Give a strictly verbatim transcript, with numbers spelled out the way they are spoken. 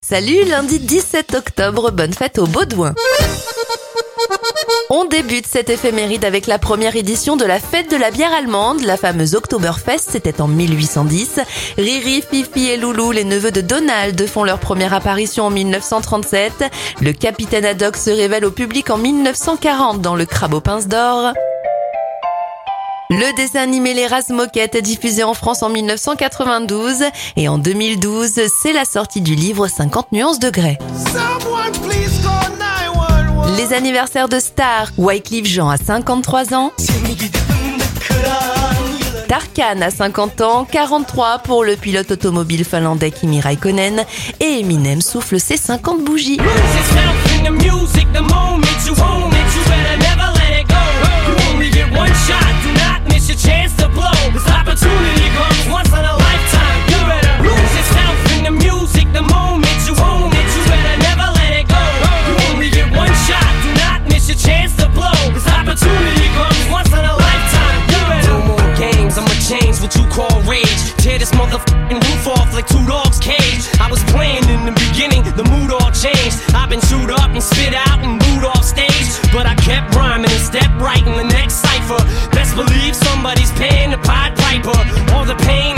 Salut, lundi dix-sept octobre, bonne fête aux Baudouins. On débute cette éphéméride avec la première édition de la fête de la bière allemande, la fameuse Oktoberfest, c'était en mille huit cent dix. Riri, Fifi et Loulou, les neveux de Donald, font leur première apparition en mille neuf cent trente-sept. Le capitaine Haddock se révèle au public en mille neuf cent quarante dans Le Crabe aux pinces d'or. Le dessin animé Les Razmoquettes est diffusé en France en mille neuf cent quatre-vingt-douze et en deux mille douze, c'est la sortie du livre cinquante nuances de Grey. Les anniversaires de stars, Wyclef Jean a cinquante-trois ans, Tarkan a cinquante ans, quarante-trois pour le pilote automobile finlandais Kimi Räikkönen et Eminem souffle ses cinquante bougies. What you call rage, tear this motherfucking roof off like two dogs' cage. I was playing in the beginning, the mood all changed. I've been chewed up and spit out and booed off stage, but I kept rhyming and stepped right in the next cipher. Best believe somebody's paying the Pied Piper. All the pain